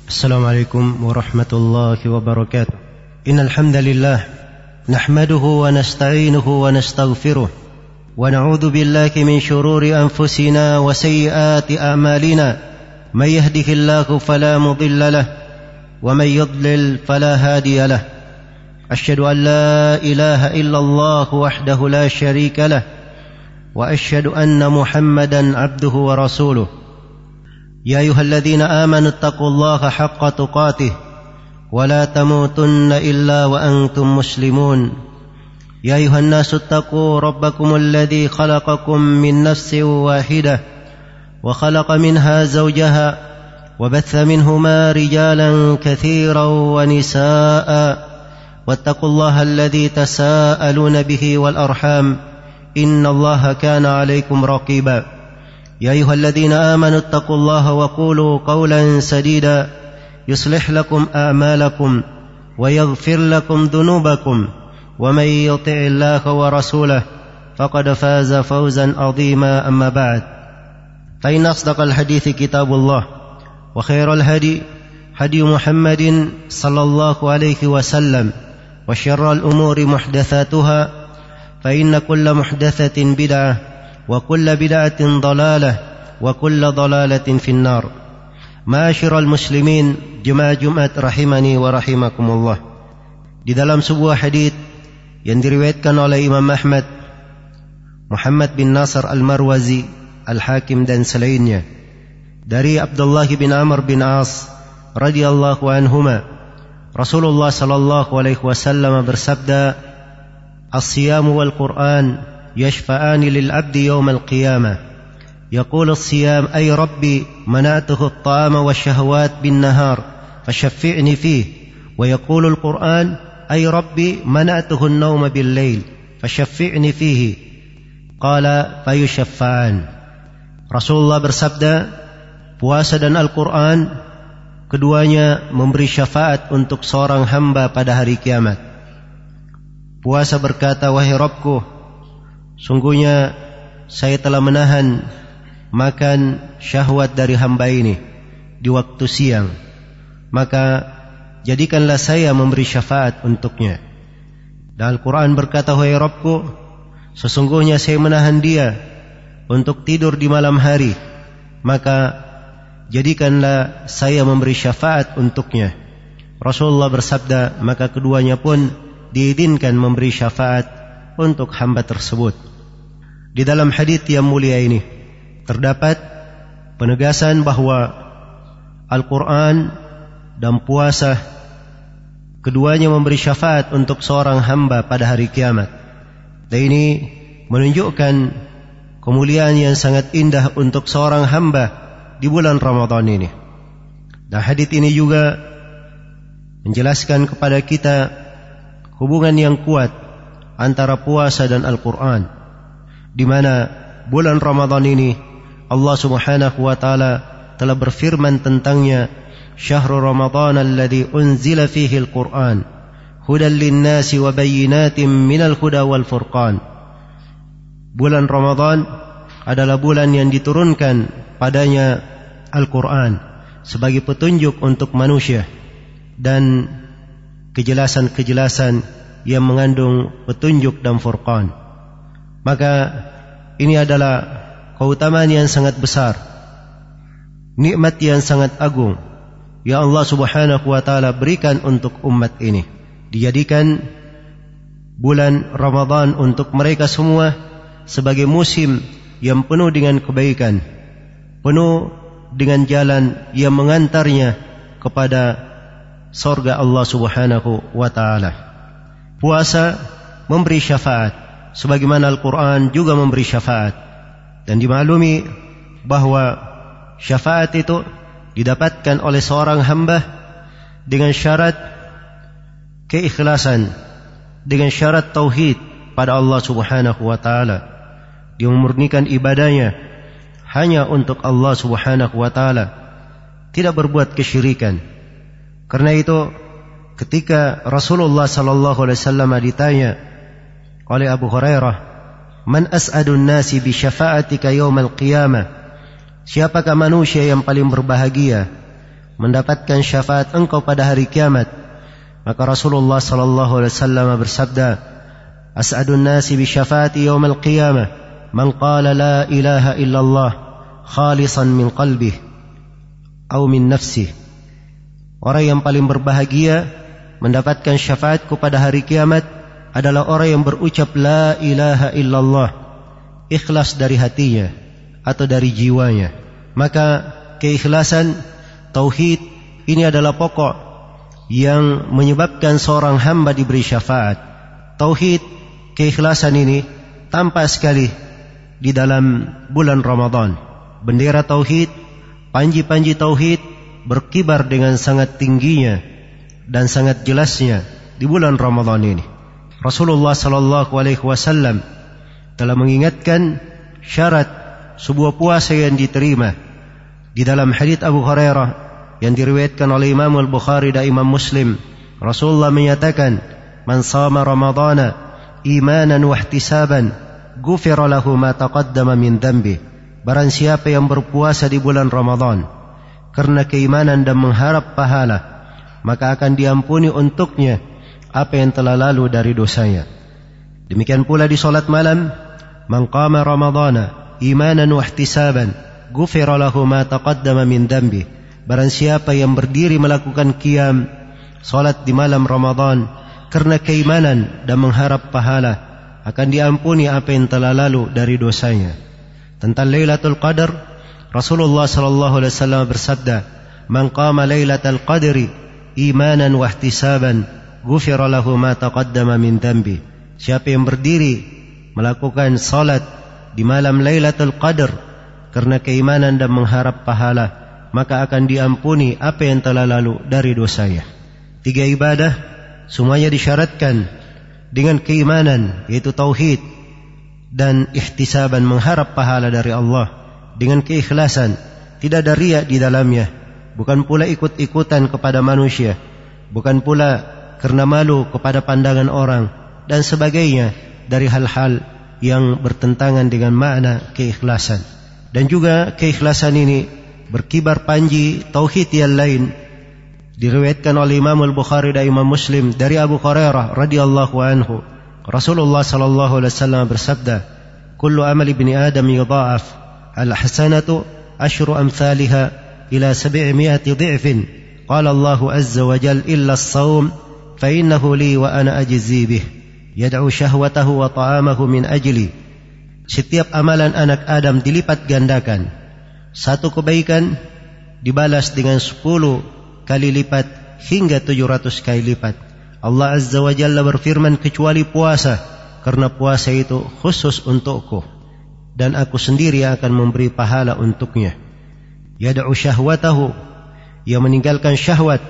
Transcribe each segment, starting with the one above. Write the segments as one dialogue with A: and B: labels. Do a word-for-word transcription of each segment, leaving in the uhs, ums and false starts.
A: السلام عليكم ورحمة الله وبركاته. إن الحمد لله نحمده ونستعينه ونستغفره ونعوذ بالله من شرور أنفسنا وسيئات أعمالنا. من يهده الله فلا مضل له ومن يضلل فلا هادي له. أشهد أن لا إله إلا الله وحده لا شريك له وأشهد أن محمدا عبده ورسوله. يا أيها الذين آمنوا اتقوا الله حق تقاته ولا تموتن إلا وأنتم مسلمون. يا أيها الناس اتقوا ربكم الذي خلقكم من نفس واحدة وخلق منها زوجها وبث منهما رجالا كثيرا ونساء واتقوا الله الذي تساءلون به والأرحام إن الله كان عليكم رقيبا. يا أيها الذين آمنوا اتقوا الله وقولوا قولا سديدا يصلح لكم أعمالكم ويغفر لكم ذنوبكم ومن يطع الله ورسوله فقد فاز فوزا عظيما. أما بعد، فإن أصدق الحديث كتاب الله وخير الهدي هدي محمد صلى الله عليه وسلم وشر الأمور محدثاتها فإن كل محدثة بدعة وكل بدعة ضلالة وكل ضلالة في النار. Ma'asyiral muslimin, jemaah Jumat rahimani wa rahimakumullah. Di dalam sebuah hadits yang diriwayatkan oleh Imam Ahmad, Muhammad bin Nasr al-Marwazi, Al-Hakim dan selainnya, dari Abdullah bin Amr bin As radhiyallahu anhuma, Rasulullah sallallahu alaihi wasallam bersabda, "As-siyamu wal Qur'an يشفعان للعبد يوم القيامة يقول الصيام أي ربي منعته الطعام والشهوات بالنهار فشفعني فيه ويقول القرآن أي ربي منعته النوم بالليل فشفعني فيه قال فيشفعان." Rasulullah bersabda, puasa dan Al-Quran keduanya memberi syafaat untuk seorang hamba pada hari kiamat. Puasa berkata, "Wahai Rabbku, sungguhnya saya telah menahan makan syahwat dari hamba ini di waktu siang, maka jadikanlah saya memberi syafaat untuknya." Dan Al-Quran berkata, "Wahai Rabbku, sesungguhnya saya menahan dia untuk tidur di malam hari, maka jadikanlah saya memberi syafaat untuknya." Rasulullah bersabda, maka keduanya pun diizinkan memberi syafaat untuk hamba tersebut. Di dalam hadits yang mulia ini terdapat penegasan bahwa Al-Quran dan puasa keduanya memberi syafaat untuk seorang hamba pada hari kiamat. Dan ini menunjukkan kemuliaan yang sangat indah untuk seorang hamba di bulan Ramadan ini. Dan hadits ini juga menjelaskan kepada kita hubungan yang kuat antara puasa dan Al-Quran, di mana bulan Ramadan ini Allah Subhanahu wa taala telah berfirman tentangnya, "Syahrul Ramadan alladzi unzila fihi al-Quran hudan lin-nasi wa bayyinatin minal huda wal furqan." Bulan Ramadan adalah bulan yang diturunkan padanya Al-Quran sebagai petunjuk untuk manusia dan kejelasan-kejelasan yang mengandung petunjuk dan furqan. Maka ini adalah keutamaan yang sangat besar, nikmat yang sangat agung yang Allah Subhanahu wa taala berikan untuk umat ini. Dijadikan bulan Ramadan untuk mereka semua sebagai musim yang penuh dengan kebaikan, penuh dengan jalan yang mengantarnya kepada surga Allah Subhanahu wa taala. Puasa memberi syafaat sebagaimana Al-Quran juga memberi syafaat, dan dimaklumi bahwa syafaat itu didapatkan oleh seorang hamba dengan syarat keikhlasan, dengan syarat tauhid pada Allah Subhanahu wa taala. Dia memurnikan ibadahnya hanya untuk Allah Subhanahu wa taala, tidak berbuat kesyirikan. Karena itu ketika Rasulullah sallallahu alaihi wasallam ditanya oleh Abu Hurairah, "Man as'adun nasi bi syafa'atika yaumal qiyamah?" Siapakah manusia yang paling berbahagia mendapatkan syafaat engkau pada hari kiamat. Maka Rasulullah sallallahu alaihi wasallam bersabda, as'adun nasi bi syafaati yaumal qiyamah man qala la ilaha illallah khalisan min qalbihi atau min nafsihi. Orang yang paling berbahagia mendapatkan syafaatku pada hari kiamat adalah orang yang berucap la ilaha illallah, ikhlas dari hatinya atau dari jiwanya. Maka keikhlasan, tauhid ini adalah pokok yang menyebabkan seorang hamba diberi syafaat. Tauhid, keikhlasan ini tampak sekali di dalam bulan Ramadan. Bendera tauhid, panji-panji tauhid berkibar dengan sangat tingginya dan sangat jelasnya di bulan Ramadan ini. Rasulullah sallallahu alaihi wasallam telah mengingatkan syarat sebuah puasa yang diterima di dalam hadits Abu Hurairah yang diriwayatkan oleh Imam Al-Bukhari dan Imam Muslim. Rasulullah menyatakan, man shama ramadhana imanan wa ihtisaban ghufira lahu ma taqaddama min dhanbi. Barang siapa yang berpuasa di bulan Ramadan karena keimanan dan mengharap pahala, maka akan diampuni untuknya apa yang telah lalu dari dosanya. Demikian pula di salat malam, man qama ramadhana imanan wa ihtisaban ghufira lahu ma taqaddama min dhanbi. Barang siapa yang berdiri melakukan qiyam salat di malam Ramadan karena keimanan dan mengharap pahala, akan diampuni apa yang telah lalu dari dosanya. Tentang Lailatul Qadar, Rasulullah sallallahu alaihi wasallam bersabda, man qama Lailatul Qadri imanan wa ihtisaban ghufira lahu ma taqaddama min dhanbi. Siapa yang berdiri melakukan salat di malam Lailatul Qadar karena keimanan dan mengharap pahala, maka akan diampuni apa yang telah lalu dari dosanya. Tiga ibadah semuanya disyaratkan dengan keimanan, yaitu tauhid dan ihtisaban, mengharap pahala dari Allah, dengan keikhlasan, tidak ada riya di dalamnya, bukan pula ikut-ikutan kepada manusia, bukan pula karena malu kepada pandangan orang dan sebagainya dari hal-hal yang bertentangan dengan makna keikhlasan. Dan juga keikhlasan ini berkibar panji tauhid yang lain diriwayatkan oleh Imam Al-Bukhari dan Imam Muslim dari Abu Hurairah radhiyallahu anhu. Rasulullah sallallahu alaihi wasallam bersabda, kullu amali ibni adam yudha'af al-hasanatu asyru amthaliha ila sab'imi'ati dhi'fin. Qala Allah azza wa jalla illa as-sawm fa innahu li wa ana ajzi bih yad'u syahwatahu wa ta'amahu min ajli. Setiap amalan anak Adam dilipat gandakan. Satu kebaikan dibalas dengan sepuluh kali lipat hingga tujuh ratus kali lipat. Allah azza wa jalla berfirman, kecuali puasa, karena puasa itu khusus untukku dan aku sendiri akan memberi pahala untuknya. Yad'u syahwatahu, ia meninggalkan syahwat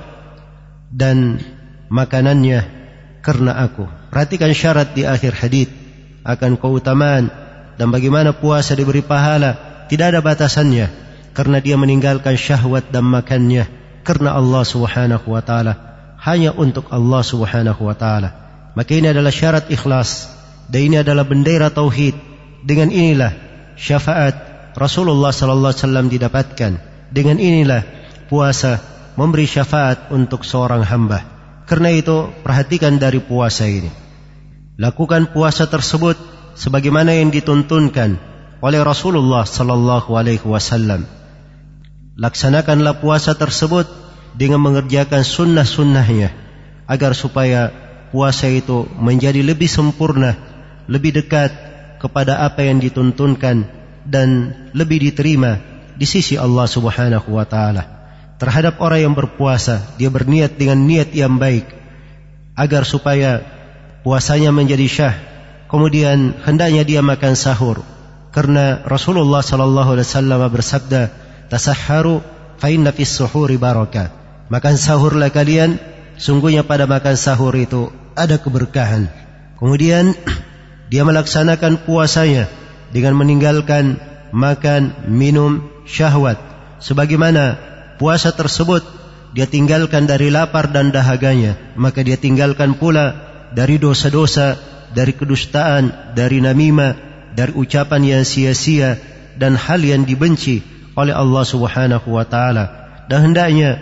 A: dan makanannya karena aku. Perhatikan syarat di akhir hadis akan keutamaan dan bagaimana puasa diberi pahala, tidak ada batasannya, karena dia meninggalkan syahwat dan makannya karena Allah subhanahu wa ta'ala, hanya untuk Allah subhanahu wa ta'ala. Maka ini adalah syarat ikhlas, dan ini adalah bendera tauhid. Dengan inilah syafaat Rasulullah sallallahu alaihi wasallam didapatkan. Dengan inilah puasa memberi syafaat untuk seorang hamba. Karena itu perhatikan dari puasa ini, lakukan puasa tersebut sebagaimana yang dituntunkan oleh Rasulullah sallallahu alaihi wasallam. Laksanakanlah puasa tersebut dengan mengerjakan sunnah-sunnahnya, agar supaya puasa itu menjadi lebih sempurna, lebih dekat kepada apa yang dituntunkan dan lebih diterima di sisi Allah subhanahu wa ta'ala. Terhadap orang yang berpuasa, dia berniat dengan niat yang baik agar supaya puasanya menjadi syah. Kemudian hendaknya dia makan sahur, karena Rasulullah sallallahu alaihi wasallam bersabda, tasahharu fa inna fis suhuri barakah. Makan sahurlah kalian, sungguhnya pada makan sahur itu ada keberkahan. Kemudian dia melaksanakan puasanya dengan meninggalkan makan, minum, syahwat. Sebagaimana puasa tersebut dia tinggalkan dari lapar dan dahaganya, maka dia tinggalkan pula dari dosa-dosa, dari kedustaan, dari namimah, dari ucapan yang sia-sia dan hal yang dibenci oleh Allah subhanahu wa ta'ala. Dan hendaknya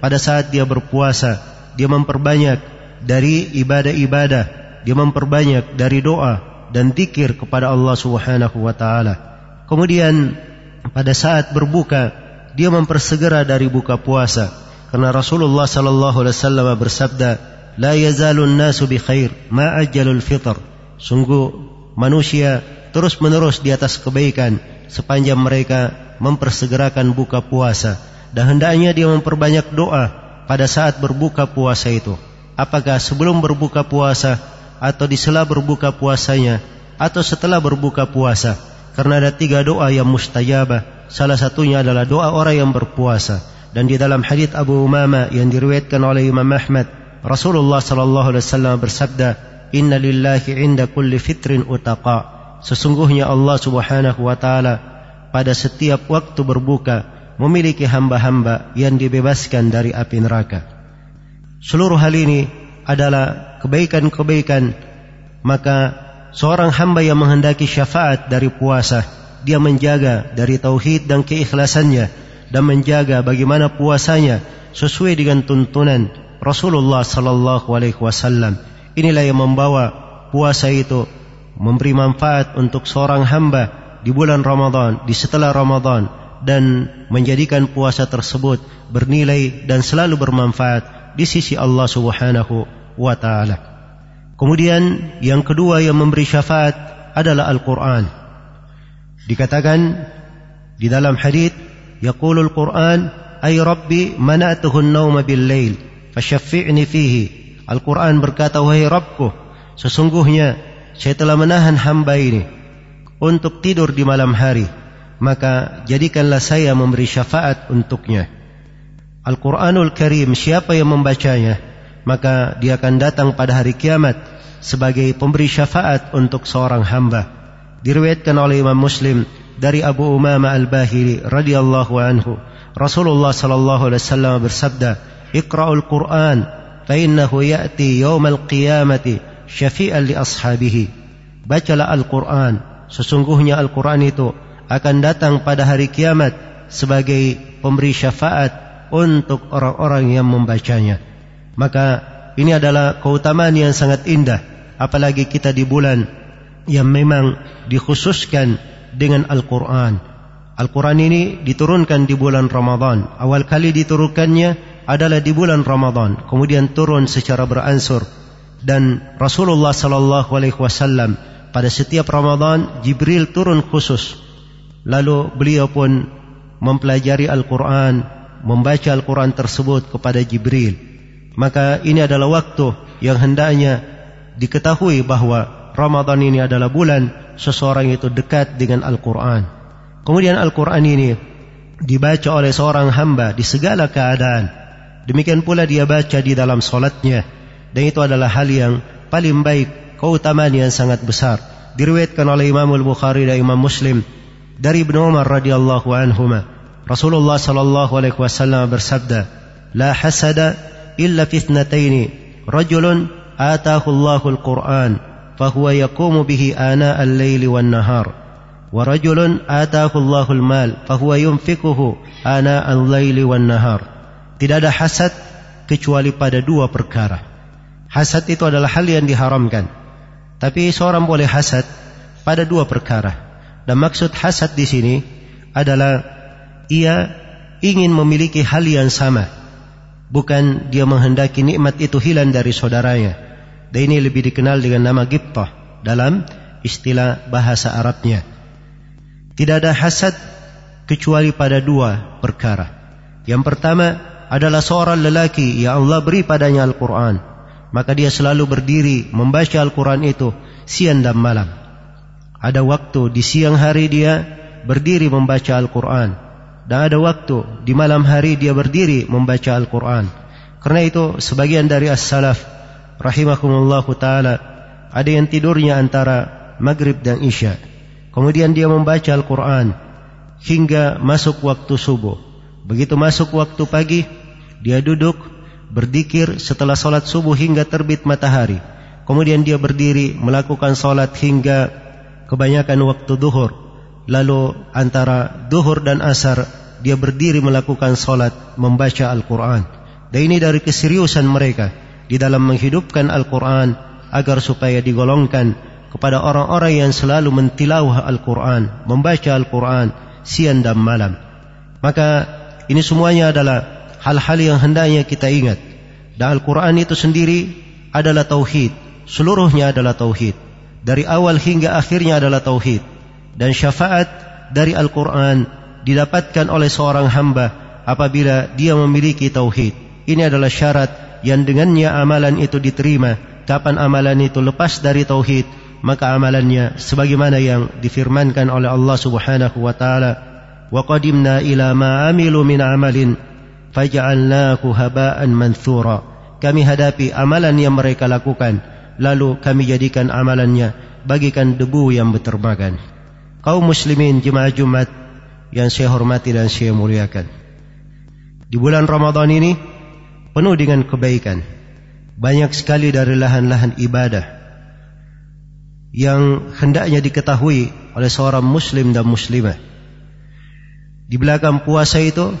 A: pada saat dia berpuasa, dia memperbanyak dari ibadah-ibadah, dia memperbanyak dari doa dan zikir kepada Allah Subhanahu wa taala. Kemudian pada saat berbuka, dia mempersegera dari buka puasa, karena Rasulullah sallallahu alaihi wasallam bersabda, "La yazalun nasu bi khair ma ajjalul fitr." Sungguh manusia terus-menerus di atas kebaikan sepanjang mereka mempersegerakan buka puasa, dan hendaknya dia memperbanyak doa pada saat berbuka puasa itu. Apakah sebelum berbuka puasa, atau di sela berbuka puasanya, atau setelah berbuka puasa? Karena ada tiga doa yang mustajabah. Salah satunya adalah doa orang yang berpuasa. Dan di dalam hadits Abu Umamah yang diriwayatkan oleh Imam Ahmad, Rasulullah sallallahu alaihi wasallam bersabda, "Inna lillahi 'inda kulli fitrin utaqa." Sesungguhnya Allah Subhanahu wa taala pada setiap waktu berbuka memiliki hamba-hamba yang dibebaskan dari api neraka. Seluruh hal ini adalah kebaikan-kebaikan. Maka seorang hamba yang menghendaki syafaat dari puasa, dia menjaga dari tauhid dan keikhlasannya, dan menjaga bagaimana puasanya sesuai dengan tuntunan Rasulullah sallallahu alaihi wasallam. Inilah yang membawa puasa itu memberi manfaat untuk seorang hamba di bulan Ramadan, di setelah Ramadan, dan menjadikan puasa tersebut bernilai dan selalu bermanfaat di sisi Allah Subhanahu wa taala. Kemudian yang kedua yang memberi syafaat adalah Al-Quran. Dikatakan di dalam hadits, yaqulul Quran, ay Rabbi mana'tuhu an-nawma bil-lail fashaffi'ni fihi. Al-Quran berkata, wahai Rabbku, sesungguhnya saya telah menahan hamba ini untuk tidur di malam hari, maka jadikanlah saya memberi syafaat untuknya. Al-Quranul Karim, siapa yang membacanya, maka dia akan datang pada hari kiamat sebagai pemberi syafaat untuk seorang hamba. Diriwayatkan oleh Imam Muslim dari Abu Umamah Al-Bahili radhiyallahu anhu, Rasulullah sallallahu alaihi wasallam bersabda, "Iqra'ul Qur'an fa innahu ya'ti yaumal qiyamati syafi'an li ashabihi." Bacalah Al-Quran, sesungguhnya Al-Quran itu akan datang pada hari kiamat sebagai pemberi syafaat untuk orang-orang yang membacanya. Maka ini adalah keutamaan yang sangat indah, apalagi kita di bulan yang memang dikhususkan dengan Al-Quran. Al-Quran ini diturunkan di bulan Ramadan. Awal kali diturunkannya adalah di bulan Ramadan, kemudian turun secara beransur. Dan Rasulullah sallallahu alaihi wasallam pada setiap Ramadan Jibril turun khusus, lalu beliau pun mempelajari Al-Quran, membaca Al-Quran tersebut kepada Jibril. Maka ini adalah waktu yang hendaknya diketahui bahwa Ramadan ini adalah bulan seseorang itu dekat dengan Al-Quran. Kemudian Al-Quran ini dibaca oleh seorang hamba di segala keadaan. Demikian pula dia baca di dalam solatnya, dan itu adalah hal yang paling baik, keutamaan yang sangat besar. Diriwayatkan oleh Imam Al-Bukhari dan Imam Muslim dari Ibnu Umar radhiyallahu anhuma, Rasulullah sallallahu alaihi wasallam bersabda, "La hasada illa fi ithnataini, rajulun ataahu Allahul Qur'an fahuwa yaqumu bihi ana al-laili wan nahar, wa rajulun ataahu Allahul mal fahuwa yunfikuhu ana al-laili wan nahar." Tidak ada hasad kecuali pada dua perkara. Hasad itu adalah hal yang diharamkan, tapi seorang boleh hasad pada dua perkara. Dan maksud hasad di sini adalah ia ingin memiliki hal yang sama, bukan dia menghendaki nikmat itu hilang dari saudaranya. Dan ini lebih dikenal dengan nama ghibtah dalam istilah bahasa Arabnya. Tidak ada hasad kecuali pada dua perkara. Yang pertama adalah seorang lelaki yang Allah beri padanya Al-Quran, maka dia selalu berdiri membaca Al-Quran itu siang dan malam. Ada waktu di siang hari dia berdiri membaca Al-Quran, dan ada waktu di malam hari dia berdiri membaca Al-Quran. Karena itu sebagian dari as-salaf rahimahumullahu ta'ala ada yang tidurnya antara maghrib dan isya, kemudian dia membaca Al-Quran hingga masuk waktu subuh. Begitu masuk waktu pagi, dia duduk berzikir setelah solat subuh hingga terbit matahari. Kemudian dia berdiri melakukan solat hingga kebanyakan waktu duhur. Lalu antara duhur dan asar dia berdiri melakukan solat membaca Al-Quran. Dan ini dari keseriusan mereka di dalam menghidupkan Al-Quran agar supaya digolongkan kepada orang-orang yang selalu mentilawah Al-Quran, membaca Al-Quran siang dan malam. Maka ini semuanya adalah hal-hal yang hendaknya kita ingat. Dan Al-Quran itu sendiri adalah tauhid, seluruhnya adalah tauhid, dari awal hingga akhirnya adalah tauhid. Dan syafaat dari Al-Quran didapatkan oleh seorang hamba apabila dia memiliki tauhid. Ini adalah syarat yang dengannya amalan itu diterima. Kapan amalan itu lepas dari tauhid, maka amalannya sebagaimana yang difirmankan oleh Allah Subhanahu wa taala, wa qadimna ila ma amilu min amalin faj'alnahu haba'an manthura. Kami hadapi amalan yang mereka lakukan, lalu kami jadikan amalannya bagikan debu yang berterbangan. Kaum muslimin jemaah Jumat yang saya hormati dan saya muliakan, di bulan Ramadan ini penuh dengan kebaikan. Banyak sekali dari lahan-lahan ibadah yang hendaknya diketahui oleh seorang muslim dan muslimah. Di belakang puasa itu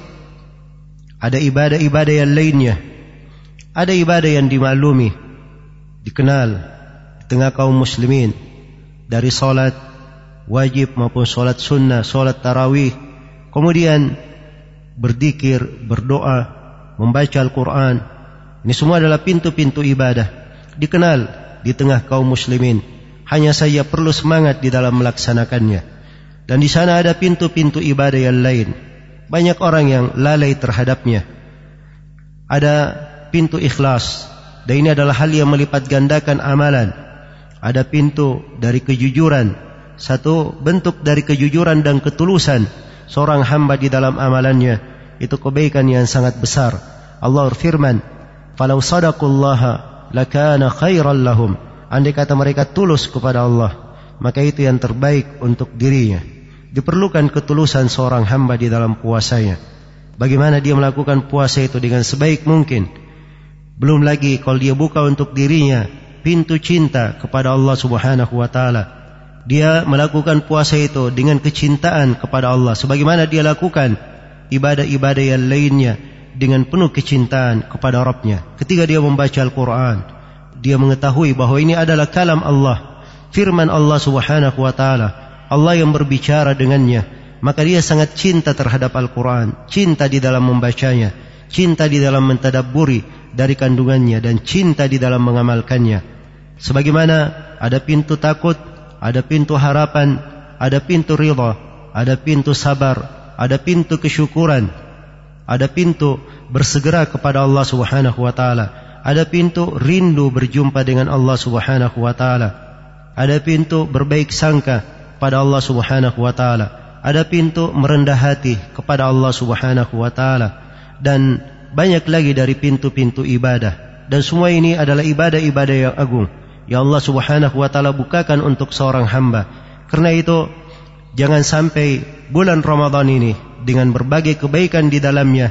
A: ada ibadah-ibadah yang lainnya. Ada ibadah yang dimaklumi, dikenal di tengah kaum muslimin, dari solat wajib maupun solat sunnah, solat tarawih, kemudian berzikir, berdoa, membaca Al-Quran. Ini semua adalah pintu-pintu ibadah, dikenal di tengah kaum muslimin. Hanya saja perlu semangat di dalam melaksanakannya. Dan di sana ada pintu-pintu ibadah yang lain, banyak orang yang lalai terhadapnya. Ada pintu ikhlas, dan ini adalah hal yang melipat gandakan amalan. Ada pintu dari kejujuran, satu bentuk dari kejujuran dan ketulusan seorang hamba di dalam amalannya, itu kebaikan yang sangat besar. Allah berfirman, "Falau sadaqallaha lakana khairan lahum." Andai kata mereka tulus kepada Allah, maka itu yang terbaik untuk dirinya. Diperlukan ketulusan seorang hamba di dalam puasanya. Bagaimana dia melakukan puasa itu dengan sebaik mungkin. Belum lagi kalau dia buka untuk dirinya pintu cinta kepada Allah Subhanahu wa taala. Dia melakukan puasa itu dengan kecintaan kepada Allah, sebagaimana dia lakukan ibadah-ibadah yang lainnya dengan penuh kecintaan kepada Rabbnya. Ketika dia membaca Al-Quran, dia mengetahui bahwa ini adalah kalam Allah, firman Allah Subhanahu wa taala, Allah yang berbicara dengannya. Maka dia sangat cinta terhadap Al-Quran, cinta di dalam membacanya, cinta di dalam mentadabburi dari kandungannya, dan cinta di dalam mengamalkannya. Sebagaimana ada pintu takut, ada pintu harapan, ada pintu ridha, ada pintu sabar, ada pintu kesyukuran, ada pintu bersegera kepada Allah Subhanahu wa taala, ada pintu rindu berjumpa dengan Allah Subhanahu wa taala, ada pintu berbaik sangka pada Allah Subhanahu wa taala, ada pintu merendah hati kepada Allah Subhanahu wa taala, dan banyak lagi dari pintu-pintu ibadah. Dan semua ini adalah ibadah-ibadah yang agung yang Allah Subhanahu wa taala bukakan untuk seorang hamba. Karena itu jangan sampai bulan Ramadan ini dengan berbagai kebaikan di dalamnya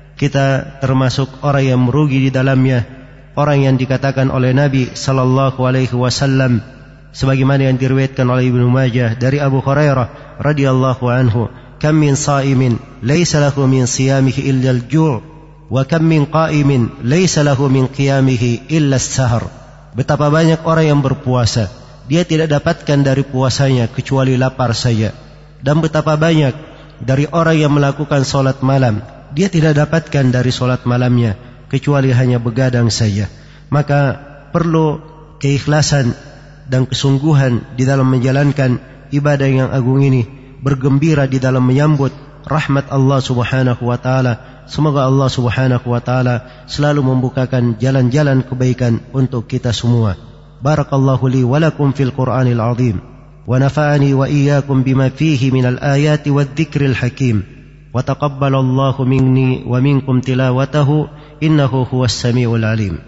A: kita termasuk orang yang merugi di dalamnya, orang yang dikatakan oleh Nabi sallallahu alaihi wasallam sebagaimana yang diriwayatkan oleh Ibnu Majah dari Abu Hurairah radhiyallahu anhu, kam min sa'imin laysa lahu min siyamihi illa al-ju' wa kam min qa'imin laysa lahu min qiyamihi illa as-sahar. Betapa banyak orang yang berpuasa, dia tidak dapatkan dari puasanya kecuali lapar saja. Dan betapa banyak dari orang yang melakukan solat malam, dia tidak dapatkan dari solat malamnya kecuali hanya begadang saja. Maka perlu keikhlasan dan kesungguhan di dalam menjalankan ibadah yang agung ini, bergembira di dalam menyambut rahmat Allah Subhanahu wa taala. Semoga Allah Subhanahu wa taala selalu membukakan jalan-jalan kebaikan untuk kita semua. Barakallahu li wa lakum fil Qur'anil azim wa nafa'ani wa iyyakum bima fihi minal ayati wadh-dhikril hakim wa taqabbalallahu minni wa minkum tilawatahu innahu huwas samiul alim.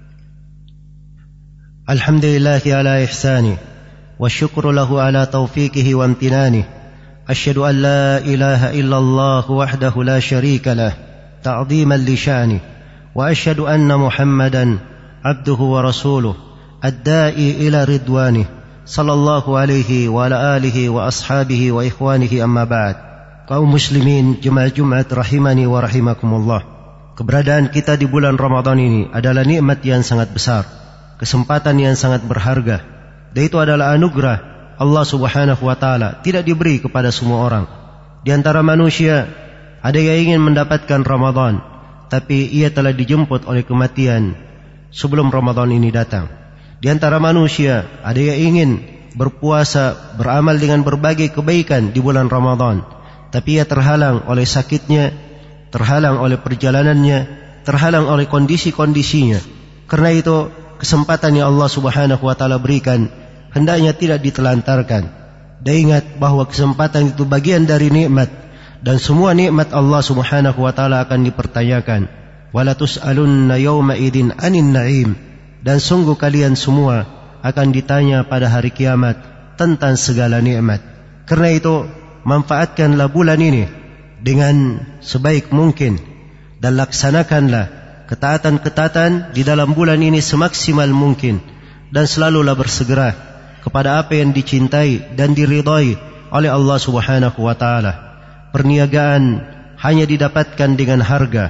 A: Alhamdulillahi ala ihsani wa syukru lahu ala taufiqihi wa amtinani. Asyhadu an la ilaha illallah wahdahu la syarika lah ta'dhiman li sya'ni wa asyhadu anna Muhammadan abduhu wa rasuluh ad-da'i ila ridwani sallallahu alaihi wa ala alihi wa ashabihi wa ikhwanihi amma ba'd. Kaum muslimin jemaah Jumat rahimani wa rahimakumullah. keberadaan kita di bulan Ramadan ini adalah nikmat yang sangat besar, kesempatan yang sangat berharga, dan itu adalah anugerah Allah Subhanahu wa taala, tidak diberi kepada semua orang. Di antara manusia ada yang ingin mendapatkan Ramadan, tapi ia telah dijemput oleh kematian sebelum Ramadan ini datang. Di antara manusia ada yang ingin berpuasa, beramal dengan berbagai kebaikan di bulan Ramadan, tapi ia terhalang oleh sakitnya, terhalang oleh perjalanannya, terhalang oleh kondisi-kondisinya. Karena itu kesempatan yang Allah Subhanahu wa taala berikan hendaknya tidak ditelantarkan. Dan ingat bahwa kesempatan itu bagian dari nikmat, dan semua nikmat Allah Subhanahu wa taala akan dipertanyakan. Wala tus'alunna yawma idin 'anil na'im. Dan sungguh kalian semua akan ditanya pada hari kiamat tentang segala nikmat. Karena itu manfaatkanlah bulan ini dengan sebaik mungkin, dan laksanakanlah ketaatan-ketaatan di dalam bulan ini semaksimal mungkin, dan selalulah bersegera kepada apa yang dicintai dan diridai oleh Allah Subhanahu wa taala. Perniagaan hanya didapatkan dengan harga,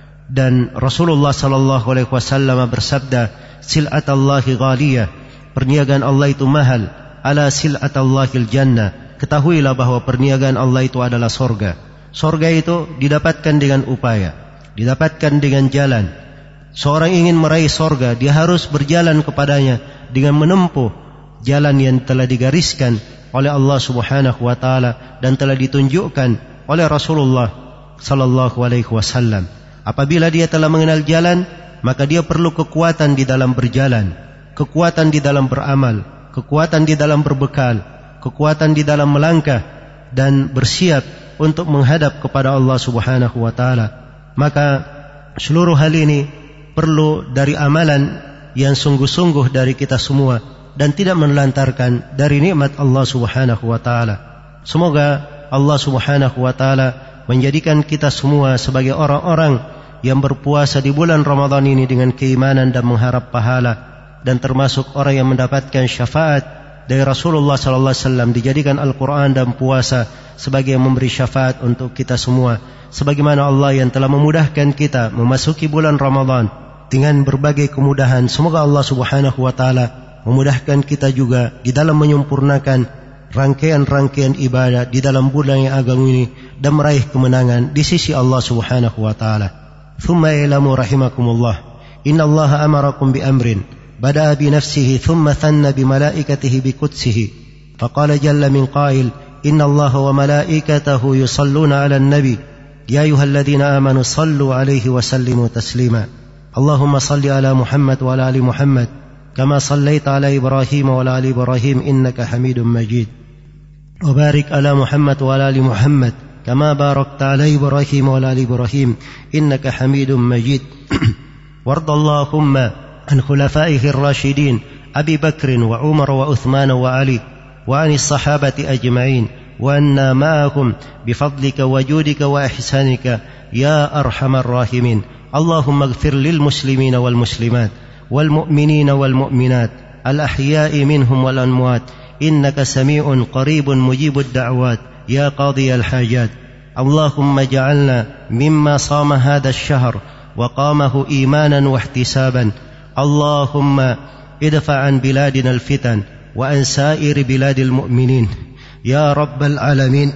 A: dan Rasulullah sallallahu alaihi wasallam bersabda, sil'atallahi ghaliyah, perniagaan Allah itu mahal, ala sil'atallahil jannah, ketahuilah bahwa perniagaan Allah itu adalah sorga. Sorga itu didapatkan dengan upaya, didapatkan dengan jalan. Seorang ingin meraih sorga, dia harus berjalan kepadanya dengan menempuh jalan yang telah digariskan oleh Allah Subhanahu wa taala dan telah ditunjukkan oleh Rasulullah sallallahu alaihi wasallam. Apabila dia telah mengenal jalan, maka dia perlu kekuatan di dalam berjalan, kekuatan di dalam beramal, kekuatan di dalam berbekal, kekuatan di dalam melangkah dan bersiap untuk menghadap kepada Allah Subhanahu wa taala. Maka seluruh hal ini perlu dari amalan yang sungguh-sungguh dari kita semua, dan tidak menelantarkan dari nikmat Allah Subhanahu wa taala. Semoga Allah Subhanahu wa taala menjadikan kita semua sebagai orang-orang yang berpuasa di bulan Ramadan ini dengan keimanan dan mengharap pahala, dan termasuk orang yang mendapatkan syafaat dari Rasulullah sallallahu alaihi wasallam, dijadikan Al-Quran dan puasa sebagai yang memberi syafaat untuk kita semua, sebagaimana Allah yang telah memudahkan kita memasuki bulan Ramadan dengan berbagai kemudahan. Semoga Allah Subhanahu wa taala memudahkan kita juga di dalam menyempurnakan rangkaian-rangkaian ibadah di dalam bulan yang agung ini, dan meraih kemenangan di sisi Allah Subhanahu wa taala. Thumma ilamu rahimakumullah, innallaha amarakum bi amrin بدأ بنفسه ثم ثنى بملائكته بقدسه فقال جل من قائل إن الله وملائكته يصلون على النبي يا أيها الذين آمنوا صلوا عليه وسلموا تسليما اللهم صل على محمد وعلى آل محمد كما صليت على إبراهيم وعلى آل إبراهيم إنك حميد مجيد وبارك على محمد وعلى آل محمد كما باركت على إبراهيم وعلى آل إبراهيم إنك حميد مجيد وارض اللهم عن خلفائه الراشدين أبي بكر وعمر وعثمان وعلي وعن الصحابة أجمعين وأنا معهم بفضلك وجودك وإحسانك يا أرحم الراحمين اللهم اغفر للمسلمين والمسلمات والمؤمنين والمؤمنات الأحياء منهم والأموات إنك سميع قريب مجيب الدعوات يا قاضي الحاجات اللهم اجعلنا مما صام هذا الشهر وقامه إيمانا واحتسابا اللهم ادفع عن بلادنا الفتن وعن سائر بلاد المؤمنين يا رب العالمين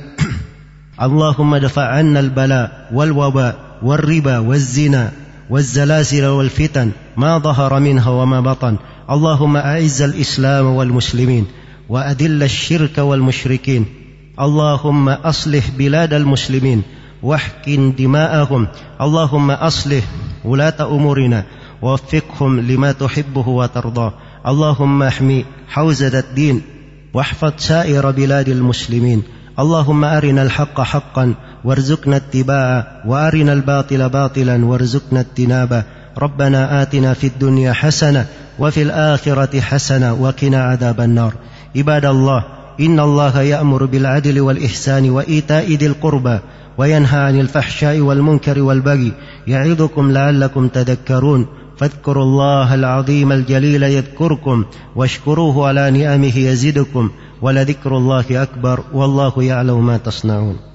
A: اللهم ادفع عنا البلاء والوباء والربا والزنا والزلازل والفتن ما ظهر منها وما بطن اللهم أعز الإسلام والمسلمين وأذل الشرك والمشركين اللهم أصلح بلاد المسلمين واحقن دماءهم اللهم أصلح ولاة أمورنا ووفقهم لما تحبه وترضاه اللهم احمي حوزة الدين واحفظ سائر بلاد المسلمين اللهم أرنا الحق حقا وارزقنا اتباعه وأرنا الباطل باطلا وارزقنا اجتنابه ربنا آتنا في الدنيا حسنة وفي الآخرة حسنة وقنا عذاب النار عباد الله إن الله يأمر بالعدل والإحسان وإيتاء ذي القربى وينهى عن الفحشاء والمنكر والبغي يعظكم لعلكم تذكرون فاذكروا الله العظيم الجليل يذكركم واشكروه على نعمه يزدكم ولذكر الله أكبر والله يعلم ما تصنعون